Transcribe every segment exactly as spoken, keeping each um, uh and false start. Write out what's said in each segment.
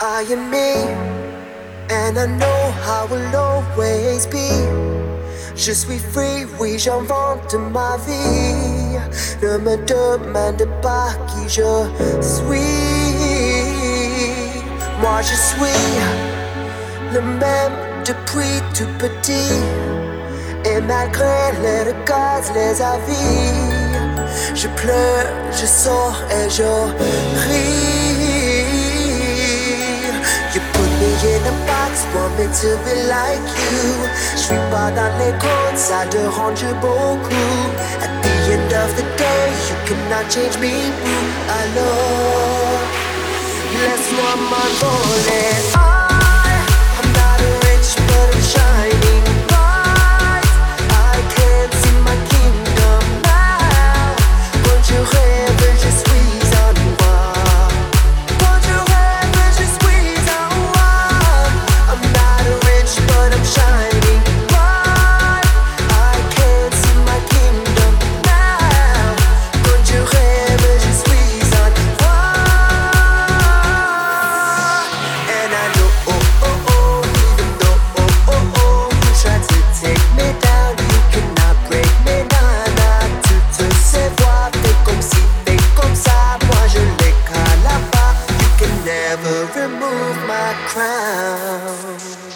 I am me, and I know I will always be. Je suis free, oui j'invente ma vie. Ne me demande pas qui je suis. Moi je suis le même depuis tout petit. Et malgré les regards, les avis, je pleure, je sors et je ris. You put me in a box, want me to be like you. Je suis pas dans les codes, ça dérange beaucoup. At the end of the day, you cannot change me. Alors, laisse-moi m'envoler. I, I'm not rich, but I'm shining. Je rêve, je suis en moi. Quand je rêve, je suis en moi. I'm not rich, but I'm shining bright. I can't see my kingdom now. Quand je rêve, je suis en moi. And I know, oh, oh, oh, even though, oh, oh, oh, you try to take me down, you cannot break me, nah, nah. Toutes ces voix comme si, fait comme ça, moi je les cale pas. You can never remove my crown.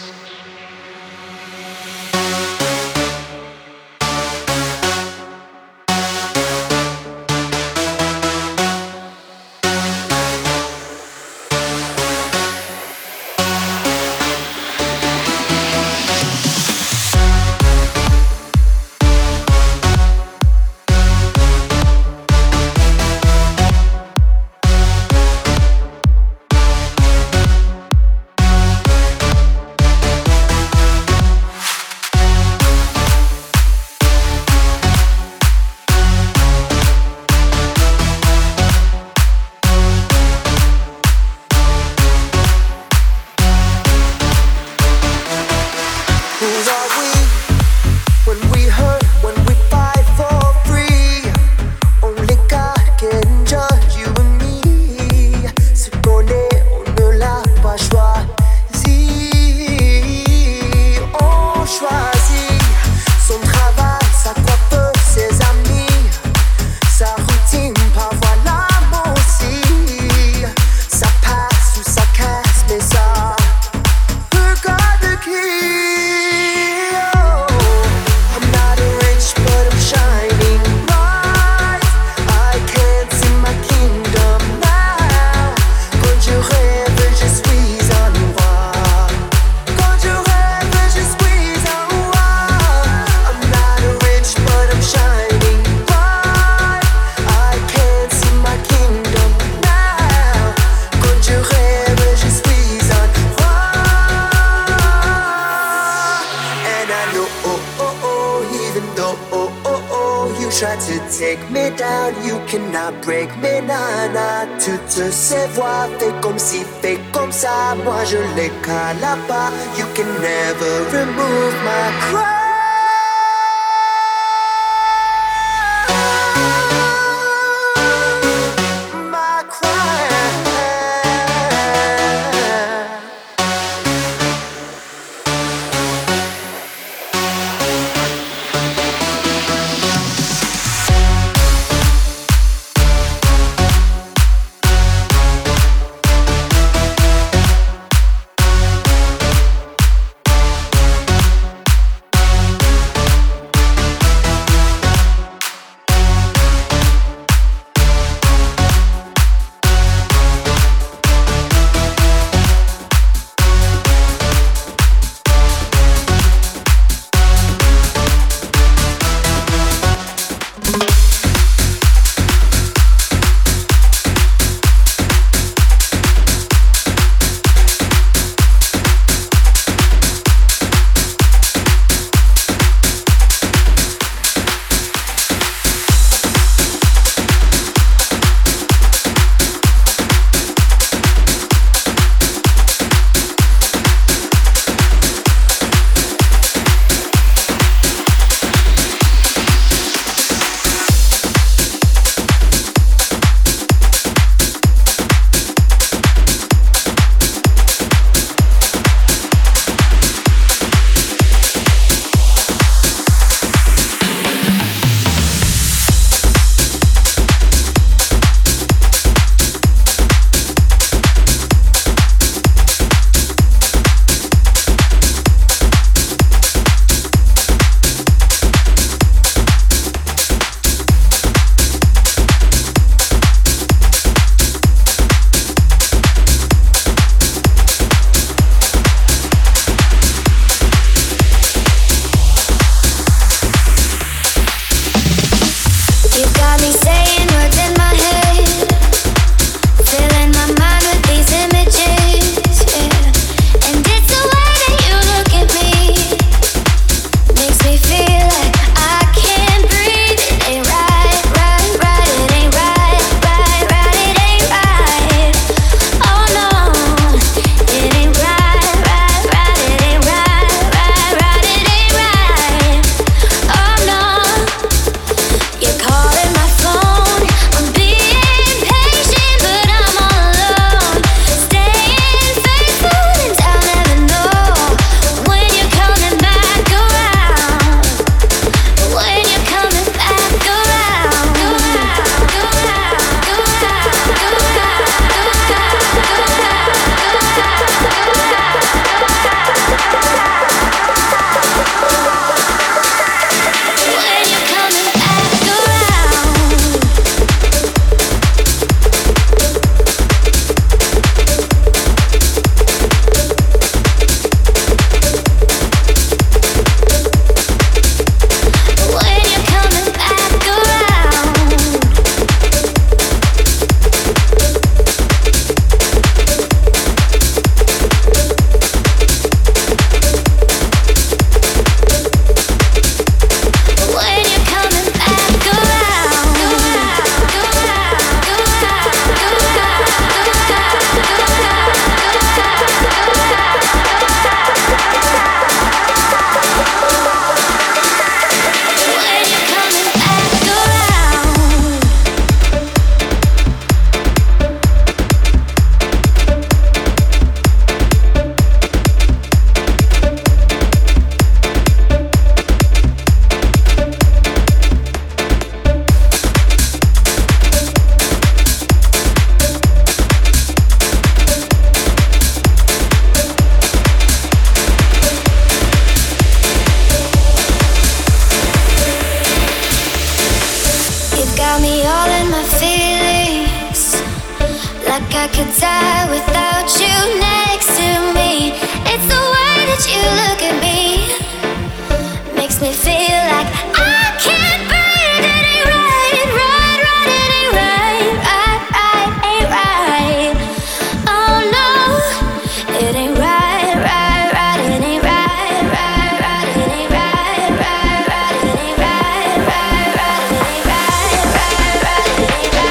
Toutes ces voix fait comme si, fait comme ça, moi je les cale pas. You can never remove my crown. I could die without you next to me. It's the way that you look at me, makes me feel like I can't breathe. It ain't right, right, right. It ain't right, right, right, ain't right. Oh no, it ain't right, right, right. It ain't right, right, right. It ain't right, right, right. It ain't right, right, right. It ain't right, right, right. It ain't right, right, right.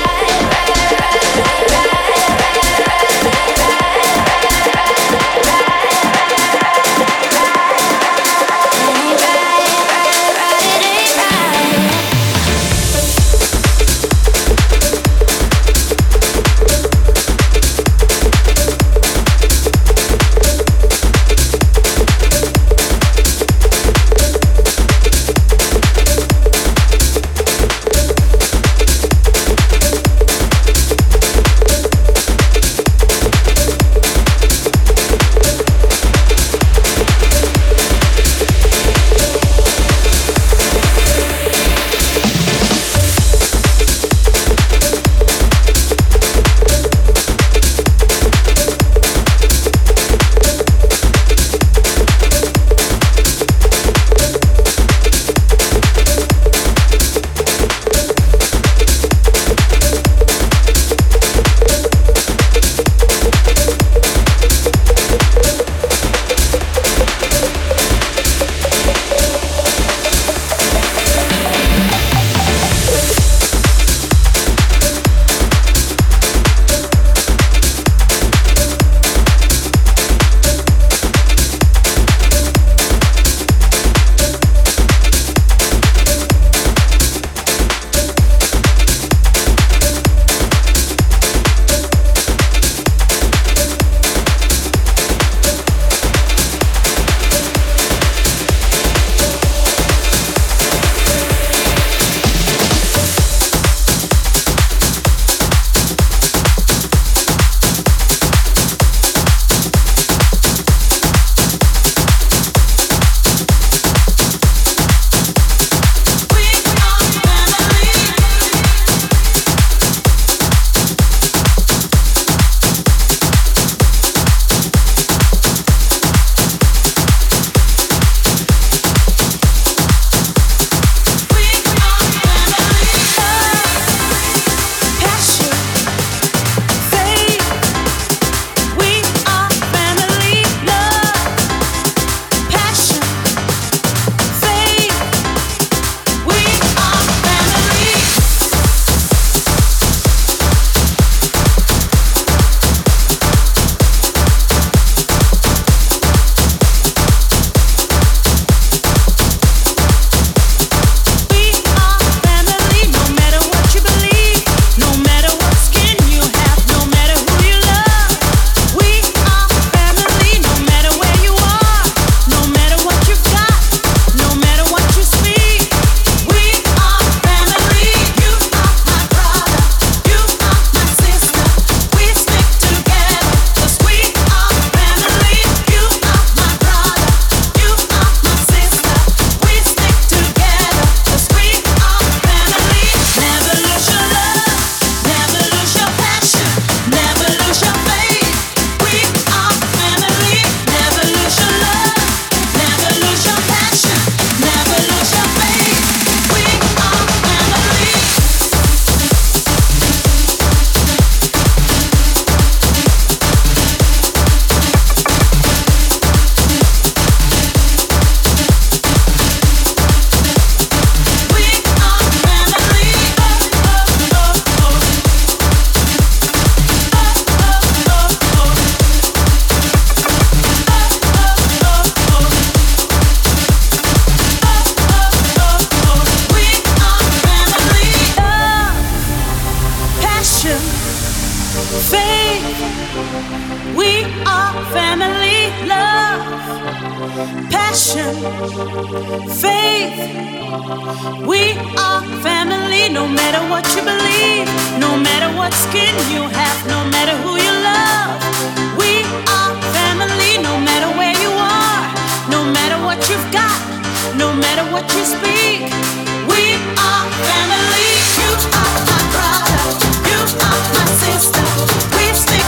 passion, faith. We are family, no matter what you believe, no matter what skin you have, no matter who you love. We are family, no matter where you are, no matter what you've got, no matter what you speak. We are family. You are my brother, you are my sister. We stick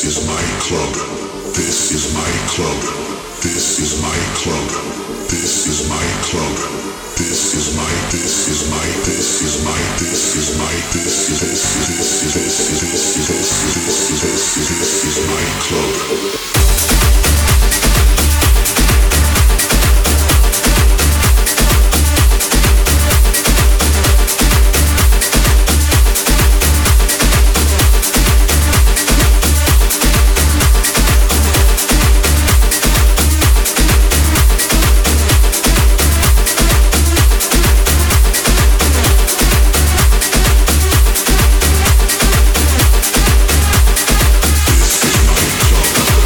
This is my club.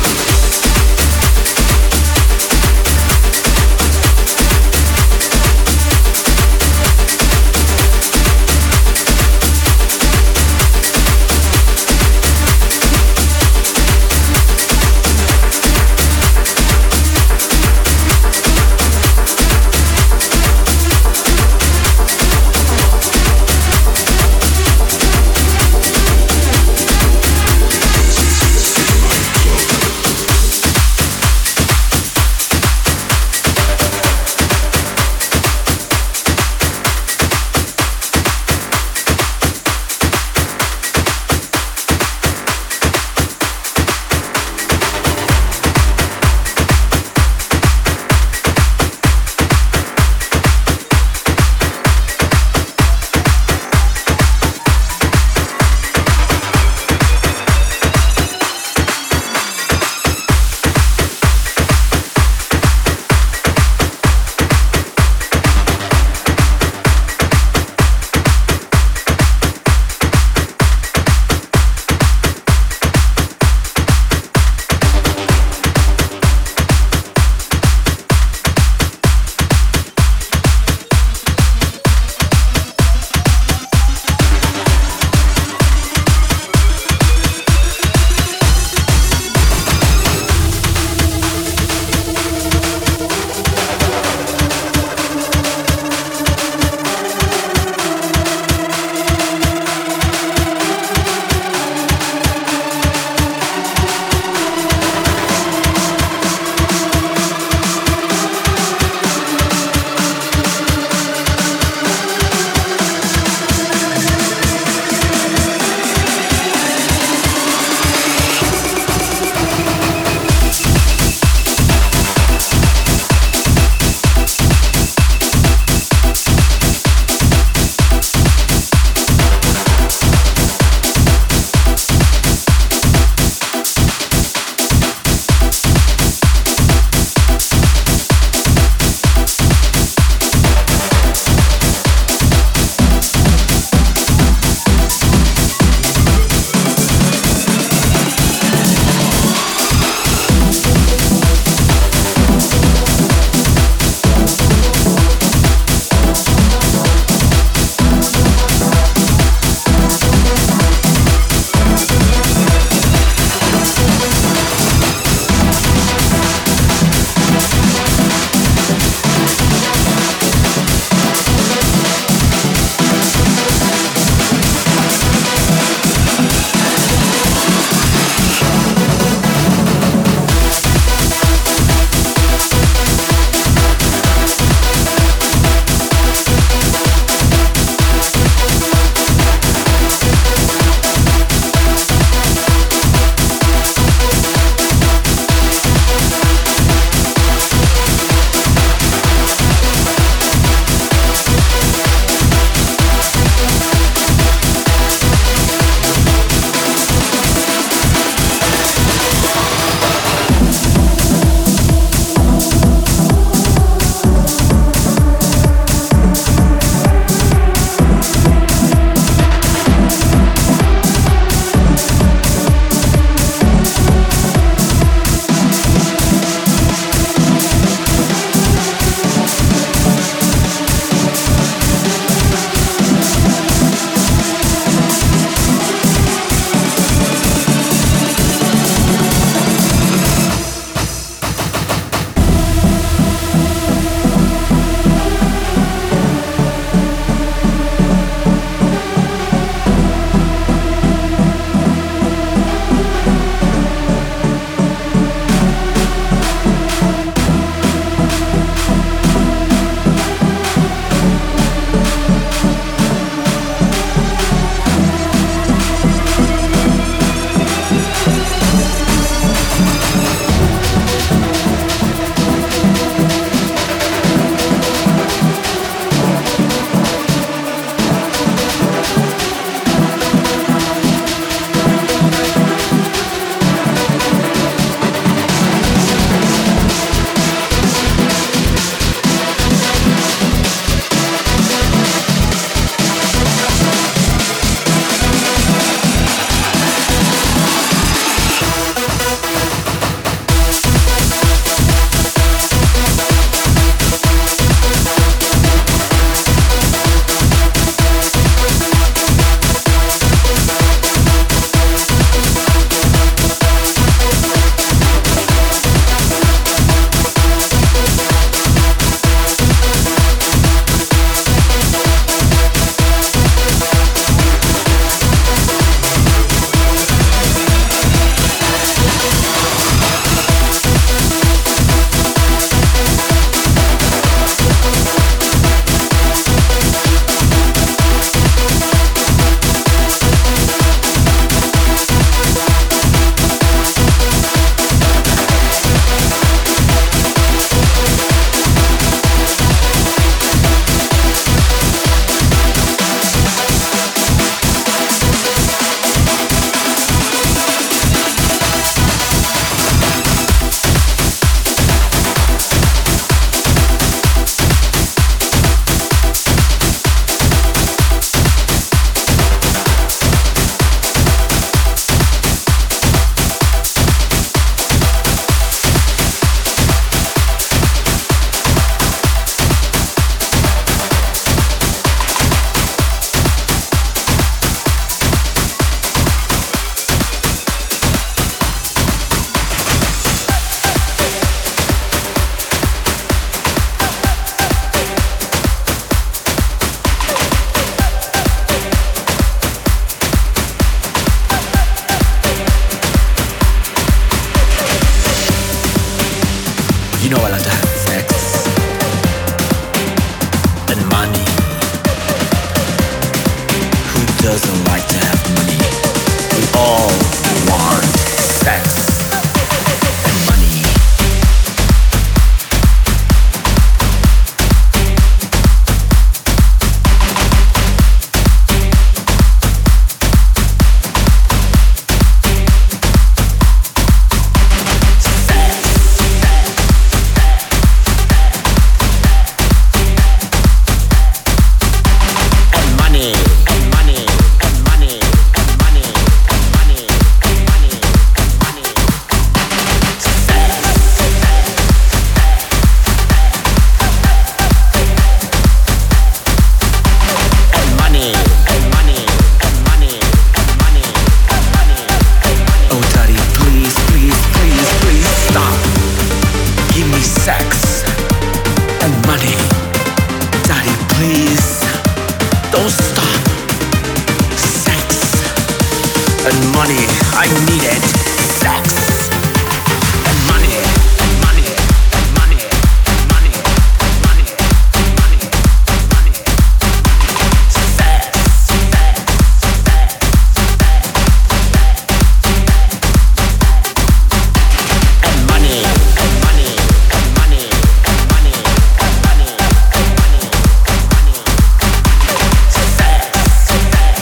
I needed sex and money and money and money and money and money and money and money. Sex, sex, sex, and money and money and money and money and money and money and money. Sex, sex.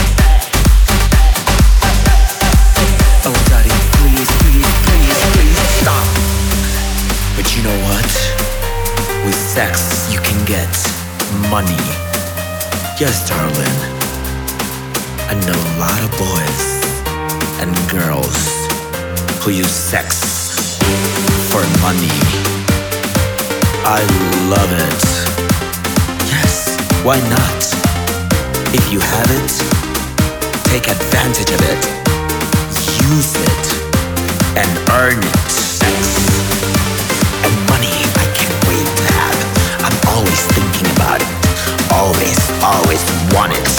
Oh, daddy, please, please, please, please stop. But you know what? With sex, you can get money. Yes, darling. I know a lot of boys and girls who use sex for money. I love it. Yes, why not? If you have it, take advantage of it. Use it and earn it. Sex and money I can't wait to have. I'm always thinking about it. Always, always want it.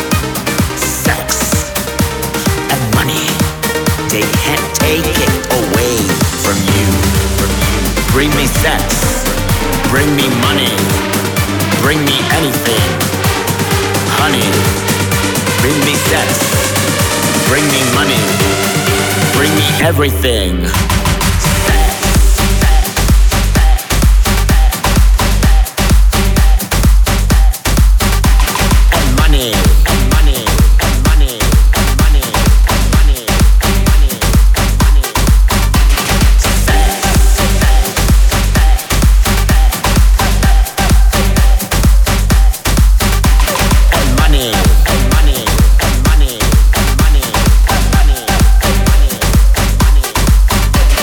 Sex and money, they can't take it away from you. From you. Bring me sex, bring me money, bring me anything. Honey, bring me sex, bring me money, bring me everything. And money, and money, and money, and money, and money, and money, and money. And money, and money, and money, and money, and money, and money, and money.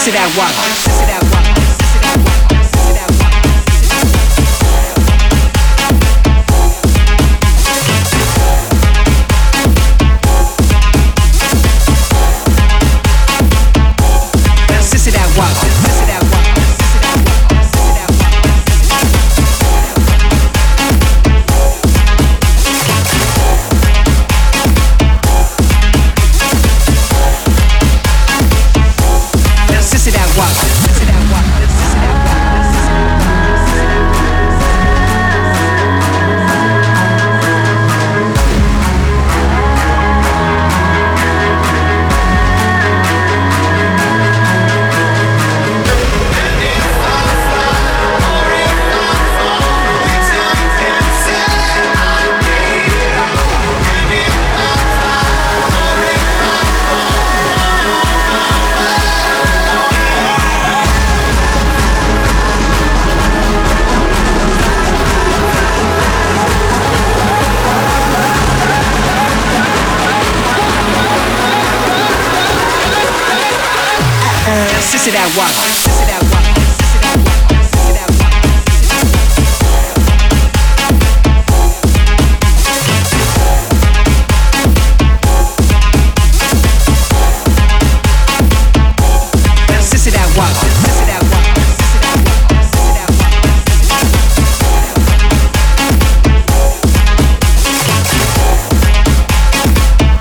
Sissy that wagga, sissy that wagga, sissy that wagga, sissy that wagga. Sissy that wagga, sissy that wagga, sissy that wagga, sissy that wagga. Sissy that wagga, sissy that wagga, sissy that wagga, sissy that wagga. Sissy that wagga, sissy that wagga, sissy that wagga, sissy that wagga, sissy that wagga, sissy that wagga, sissy that wagga, sissy that wagga.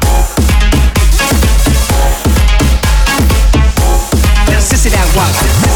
Sissy that wagga.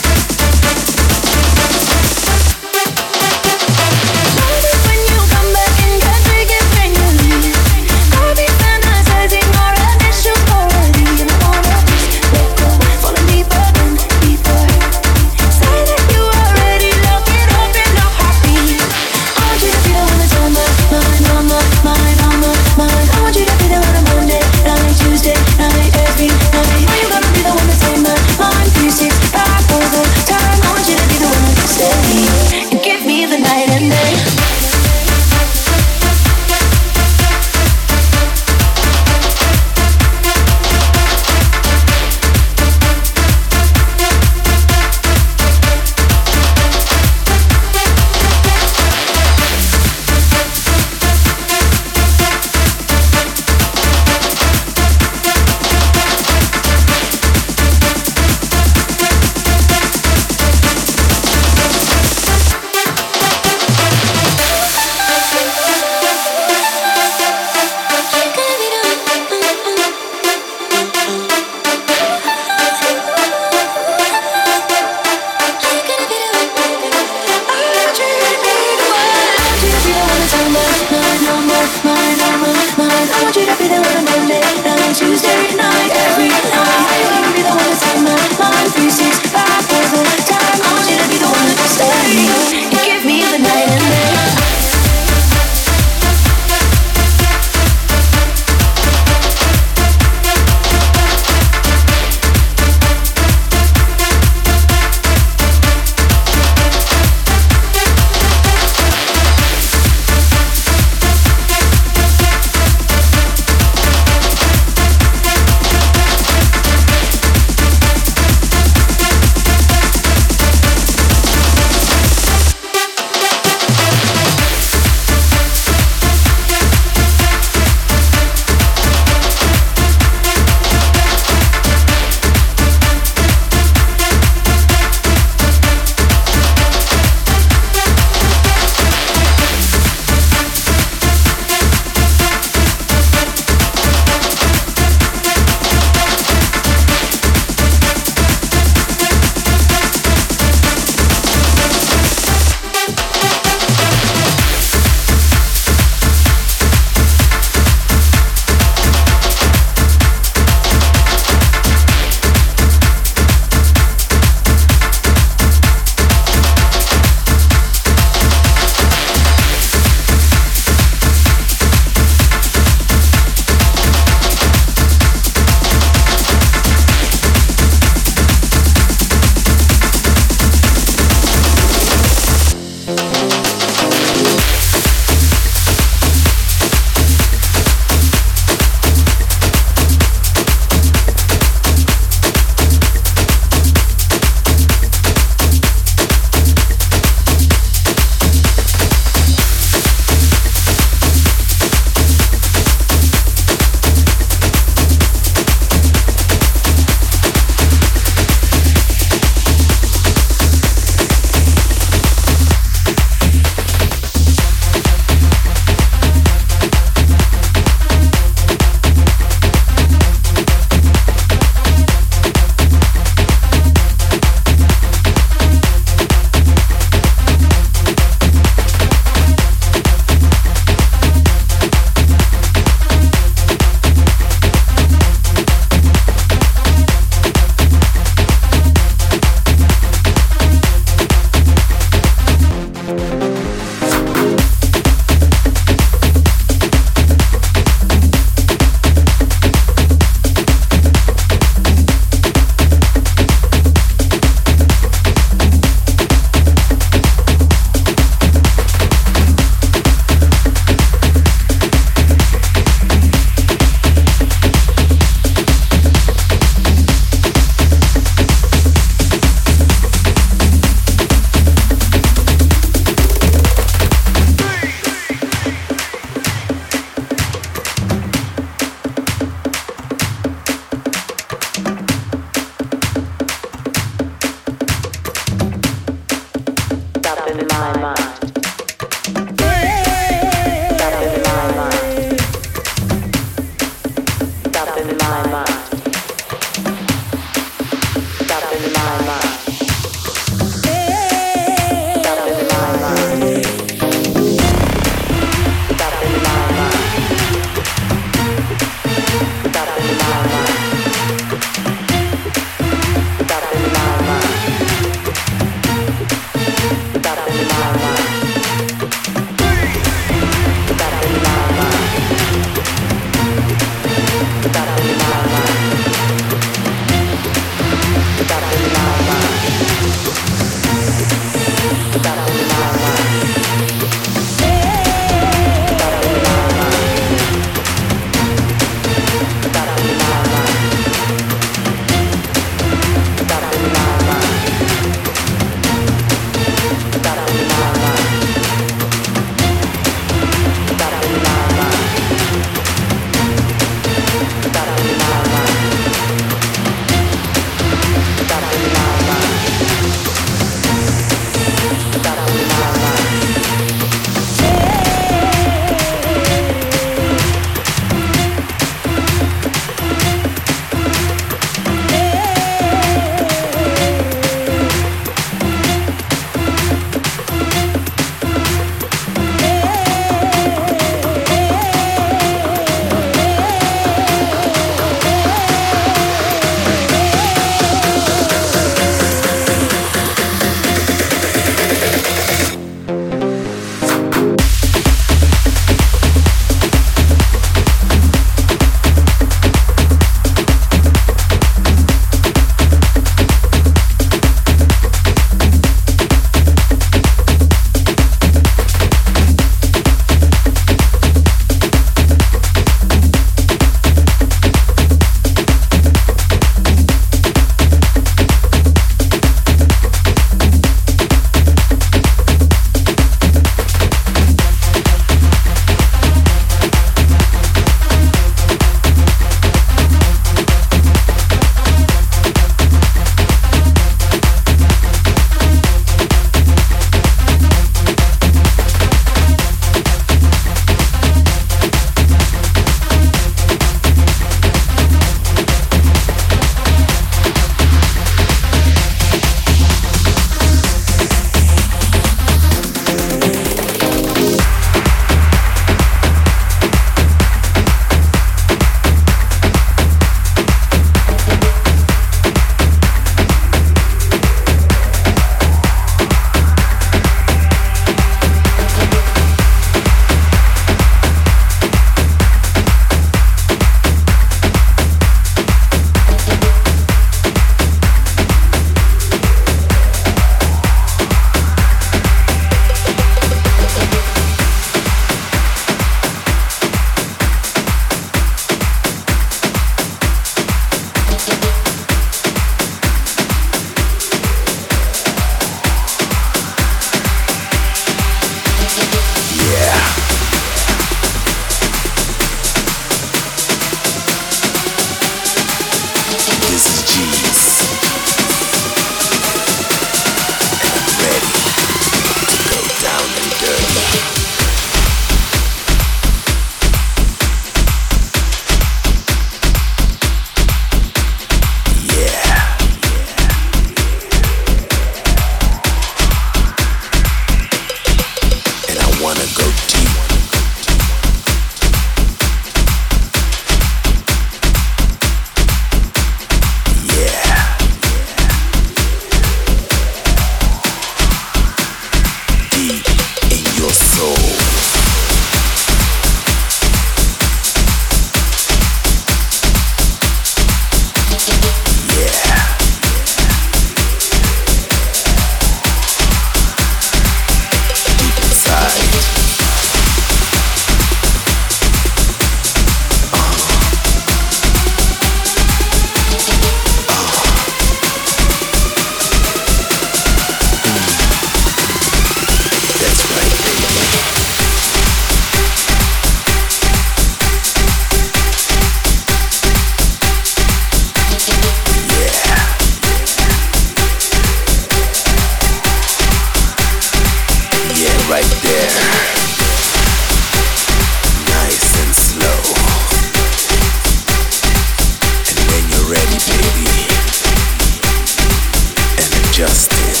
just did.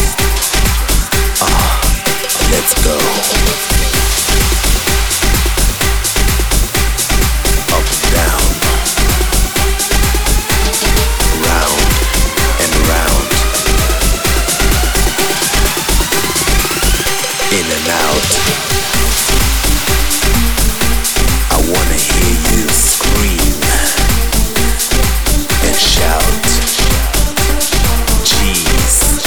Ah, let's go. Up, down, round and round, in and out. I wanna hear you scream and shout. Jeez.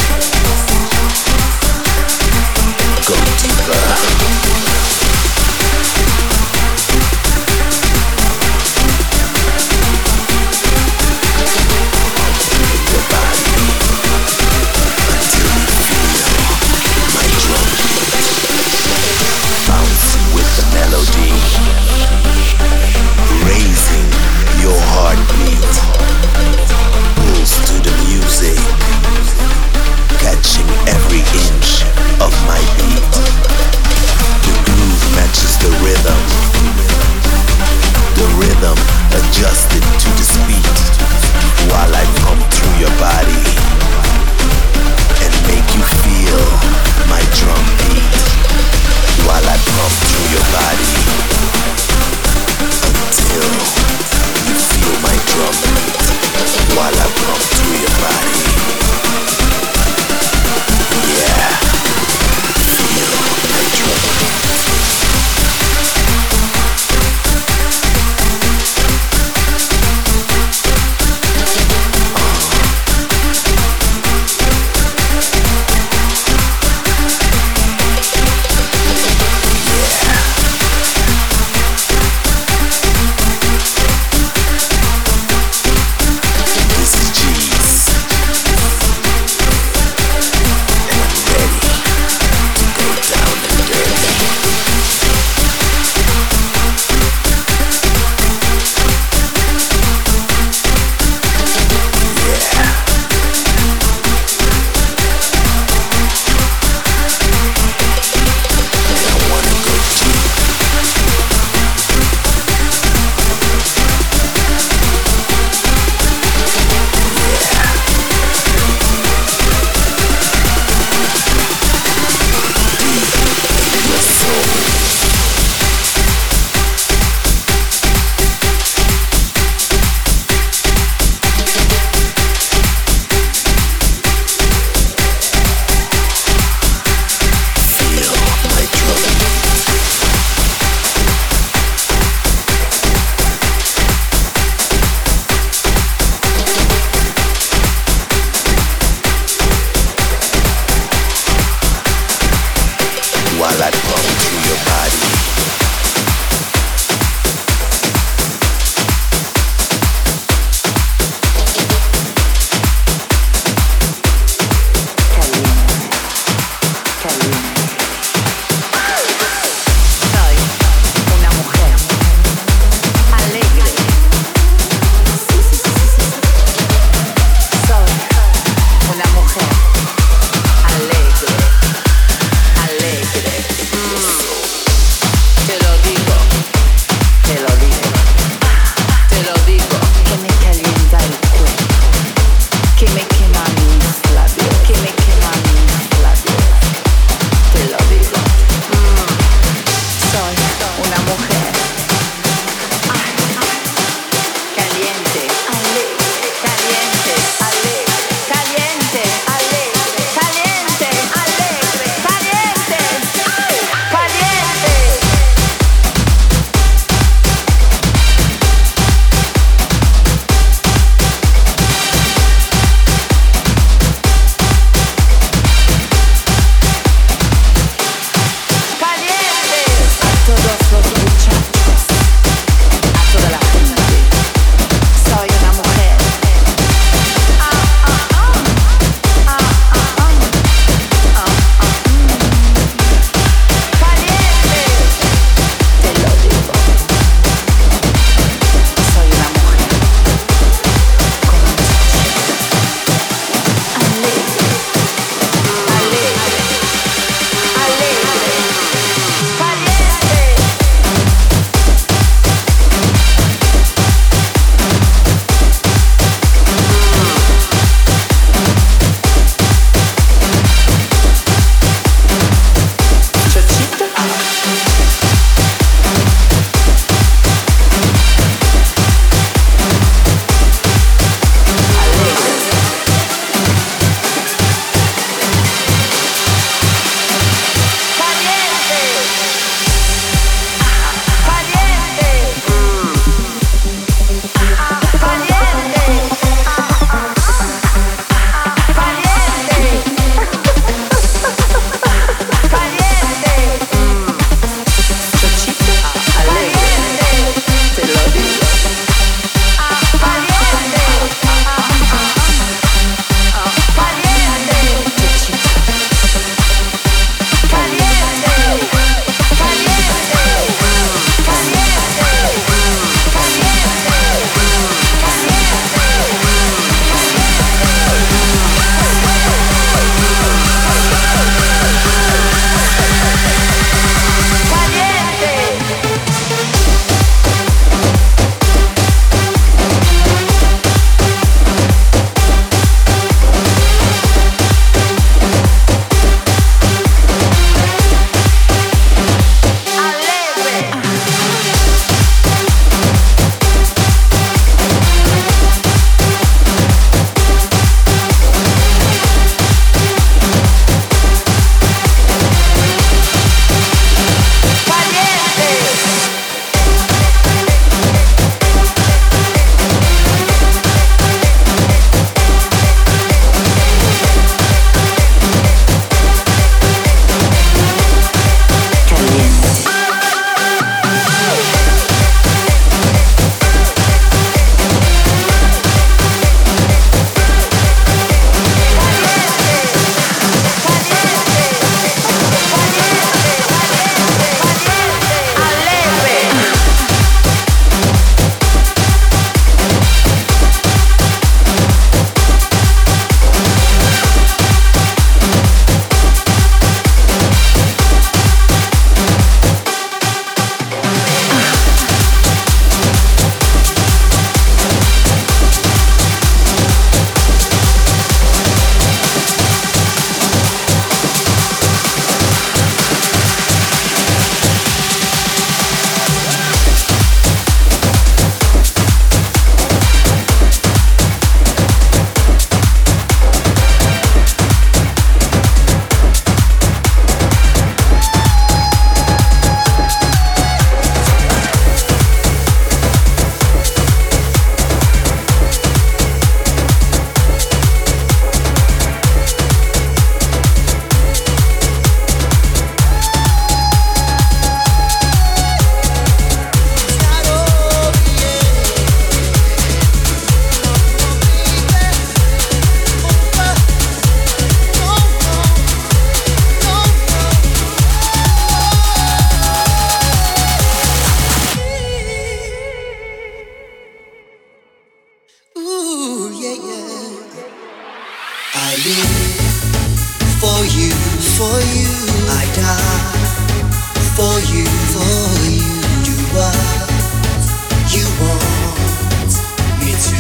live for you, for you. I die for you, for you. Do what you want me to.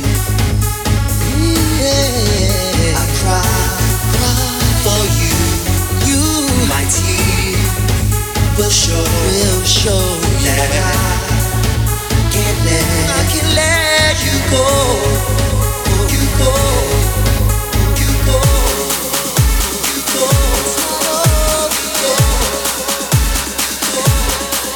Yeah. I cry, cry for you, you. My tears will show, will show that I can't let, I can't let you go, you go, you go, you go, you go, you go.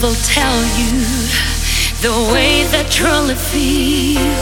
will tell you the way that truly feel.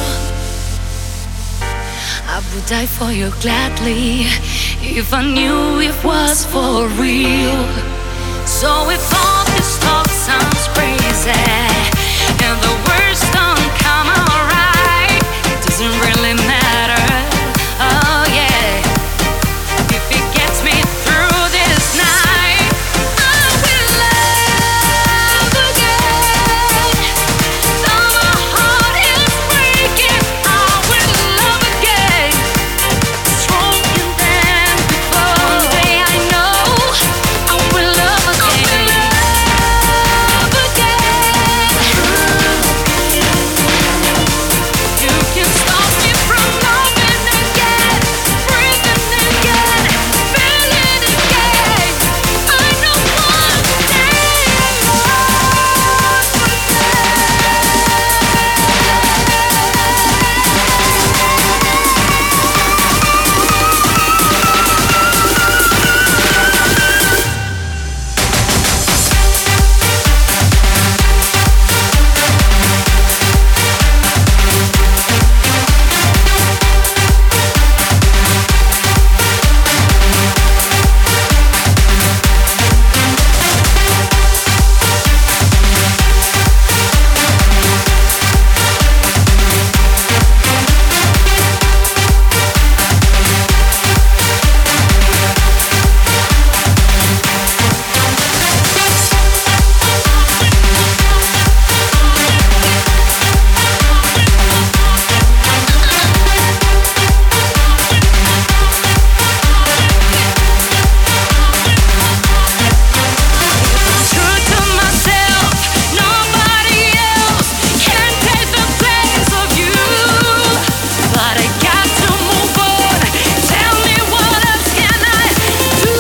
I would die for you gladly if I knew it was for real. So if all this talk sounds crazy and the words don't come out right, it doesn't really matter. Oh yeah, if it gets me through this night, I will love again. Though my heart is breaking, I will love again. Stronger than before. One day I know I will love again. Love again. You can stop me from loving again, breathing again, feeling again. I know one day I'll love true to myself, nobody else can take the place of you. But I got to move on. Tell me what else can I do?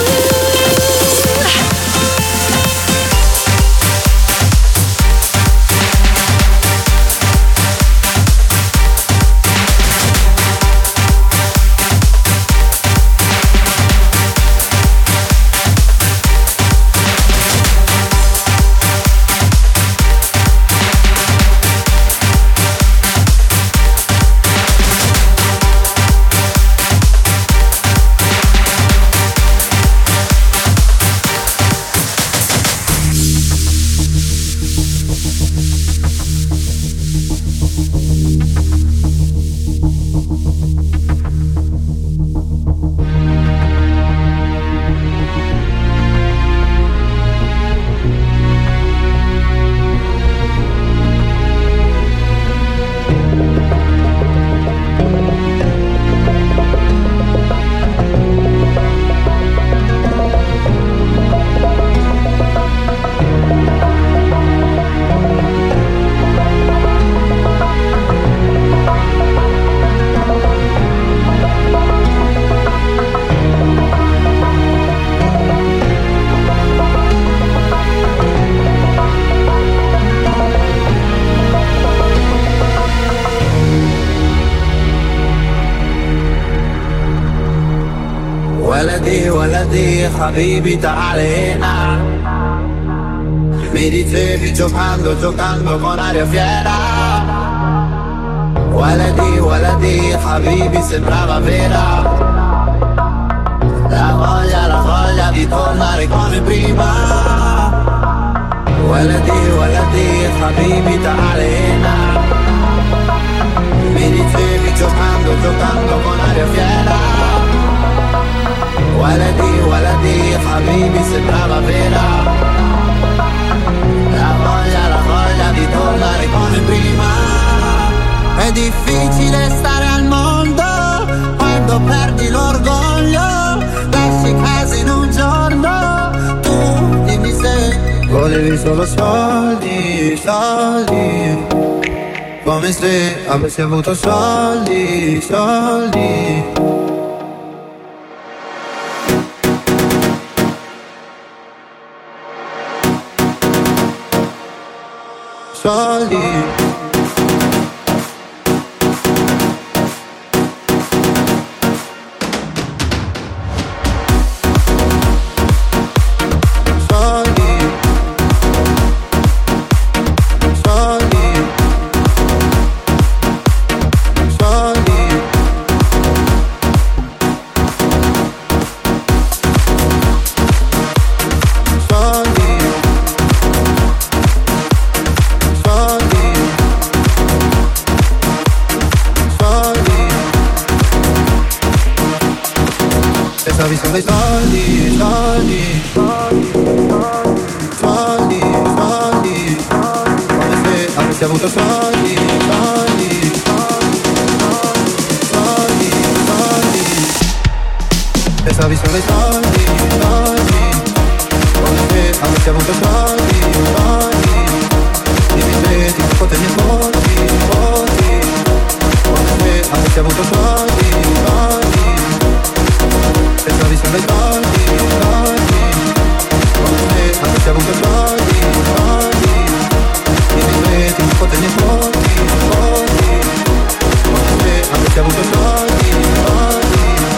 ولدي ولدي حبيبي تعال هنا. Mi dicevi giocando, giocando con aria fiera. Waladi, waladi, habibi sembrava vera. La voglia, la voglia di tornare come prima. Waladi, waladi, habibi ta'al hena. Mi dicevi giocando, giocando con aria fiera. Waladi, waladi, habibi sembrava vera. La voglia, la voglia di tornare come prima. È difficile stare al mondo quando perdi l'orgoglio. Lasci casa in un giorno. Tu dimmi se volevi solo soldi, soldi. Come se avessi avuto soldi, soldi. Soldi. Soldi. solo i soldi, soldi, soldi, soldi, come se avessi avuto soldi, soldi, soldi, soldi, pensavi solo ai soldi, soldi, come se avessi avuto soldi, soldi, dimmi se ti potevi voti, voti, come se avessi avuto soldi, soldi, pensavi solo ai soldi, soldi, come se avessi avuto soldi, soldi, dimmi se ti potevi voti, voti, come se avessi avuto soldi, soldi.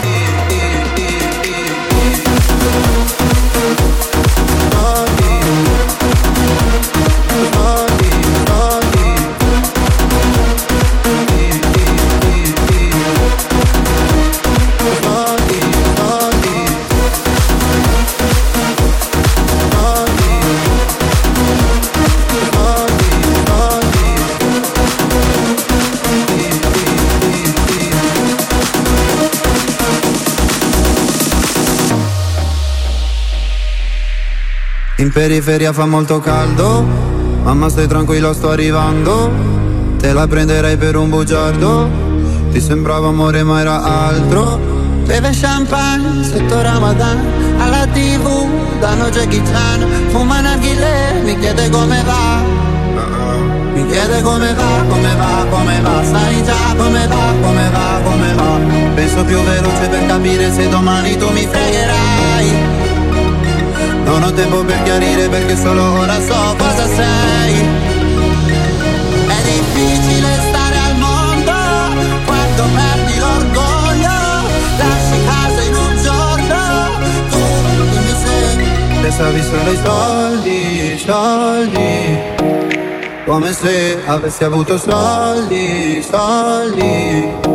In periferia fa molto caldo, mamma stai tranquilla sto arrivando, te la prenderei per un bugiardo, ti sembrava amore ma era altro. Beve champagne sotto Ramadan, alla tv danno Jackie Chan, fuma narghilè, mi chiede come va, mi chiede come va, come va, come va, sai già come va, come va, come va. Penso più veloce per capire se domani tu mi fregherai. Non ho tempo per chiarire perché solo ora so cosa sei. È difficile stare al mondo quando perdi l'orgoglio, lasci casa in un giorno, tu dimmi se pensavi solo ai soldi, soldi, come se avessi avuto soldi, soldi.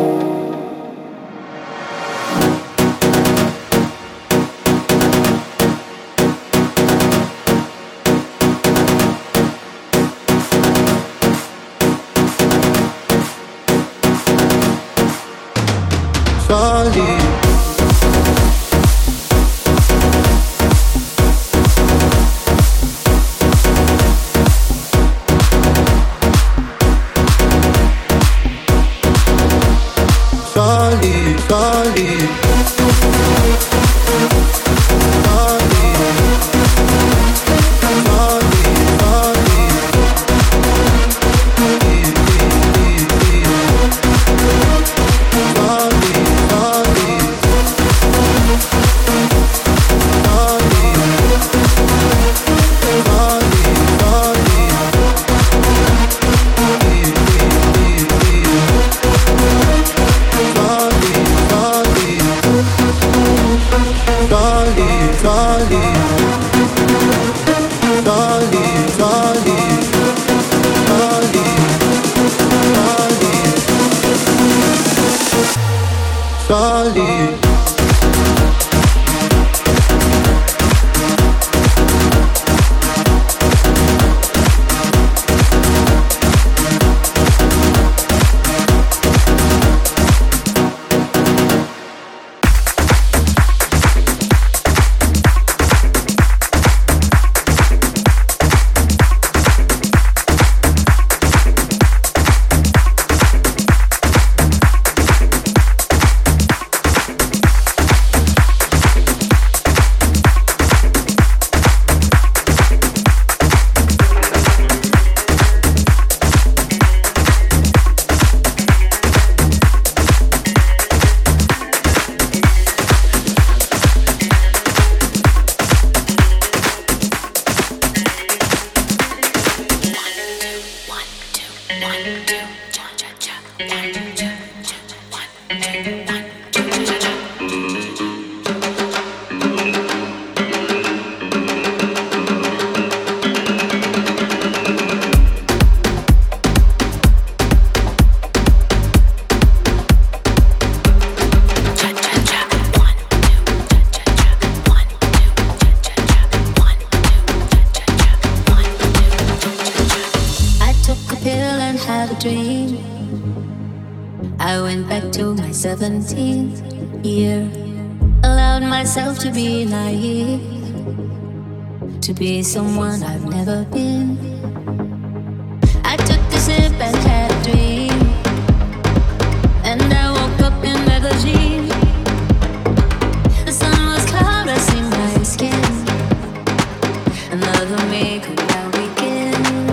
I went back to my seventeenth year, allowed allowed myself to be naive, to be someone I've never been. I took a sip and had a dream, and I woke up in magazine. The sun was caressing my skin. Another me could now begin.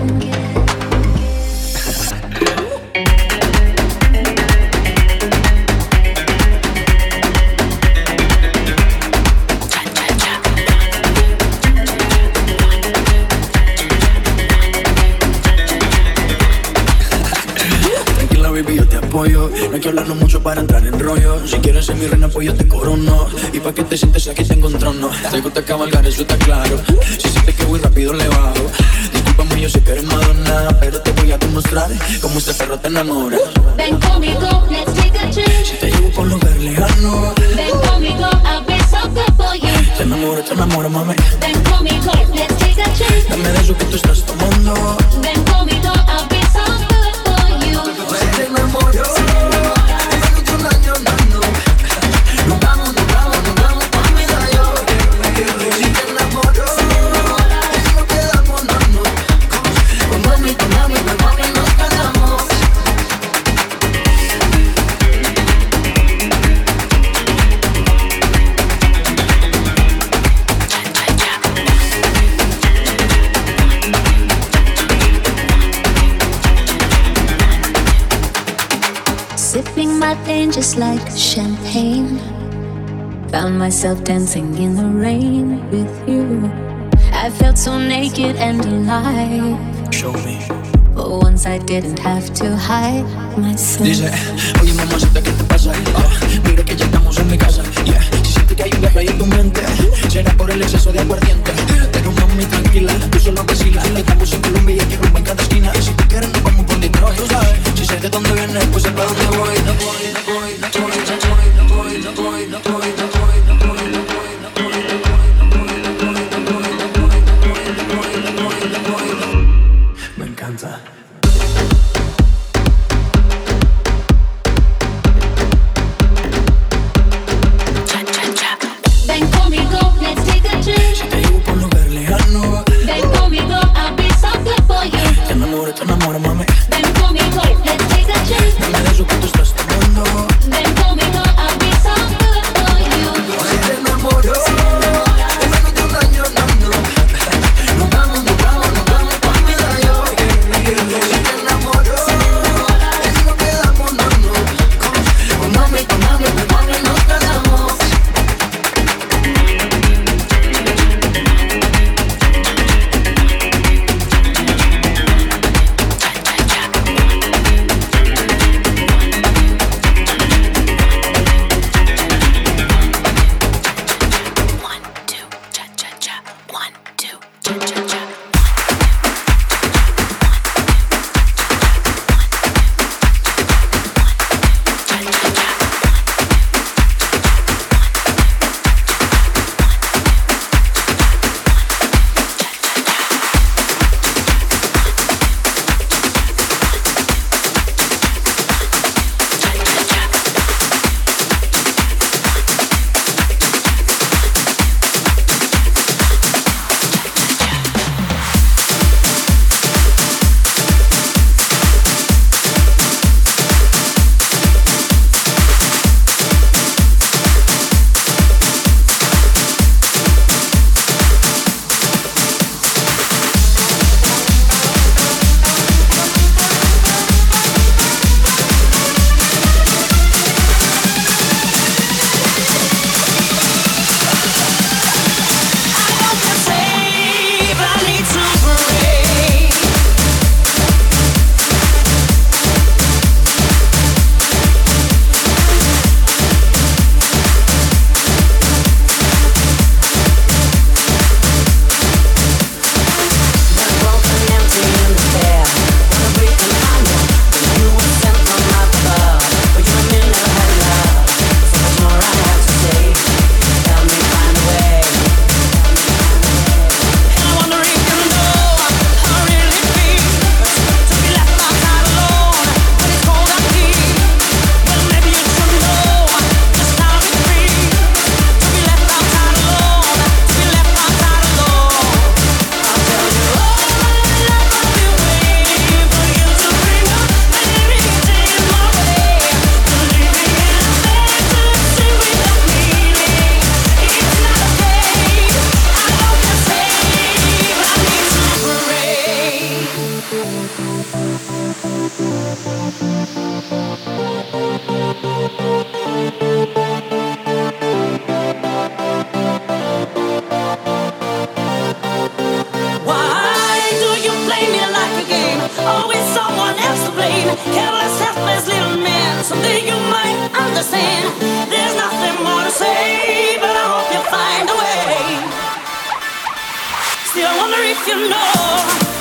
Baby, yo te apoyo. No hay que hablarlo mucho para entrar en rollo. Si quieres ser mi reina, pues yo te corono. Y pa' que te sientes aquí tengo un trono. Te gusta cabalgar, eso está claro. Si sientes que voy rápido, le bajo. Discúlpame, yo sé que eres Madonna, pero te voy a demostrar cómo este perro te enamora. Ven conmigo, let's take a trip. Si te llevo por un lugar lejano, ven conmigo, I'll be so good for you. Te enamoro, te enamoro, mami. Ven conmigo, let's take a trip. Dame de eso que tú estás tomando. Ven conmigo, I'll be so good for you. Te enamoro. Sipping my pain just like champagne. Found myself dancing in the rain with you. I felt so naked and alive. Show me. But once I didn't have to hide myself. Dice, oye mamacita, ¿qué te pasa? Oh, mira que ya estamos en mi casa. Yeah. Si sientes que hay un viaje ahí en tu mente, será por el exceso de aguardiente. Pero mami, tranquila, tú solo vacila. Estamos en Colombia y aquí rumbo en cada esquina. Y si tú quieres nos vamos por Detroit, tú sabes. Si sé de dónde vienes, pues sé para dónde voy. No voy, no voy, no voy, no voy, no voy, no voy, no voy, no voy, no voy, no voy. Me encanta. Ven conmigo, let's take a trip. Si te llevo por un lugar lejano, Ven conmigo, I'll be so good for you. te enamoro, te enamoro, mami. Ven conmigo, let's take a trip. Dame de eso que Always someone else to blame. Careless, helpless little man. Someday you might understand. There's nothing more to say, but I hope you find a way. Still, I wonder if you know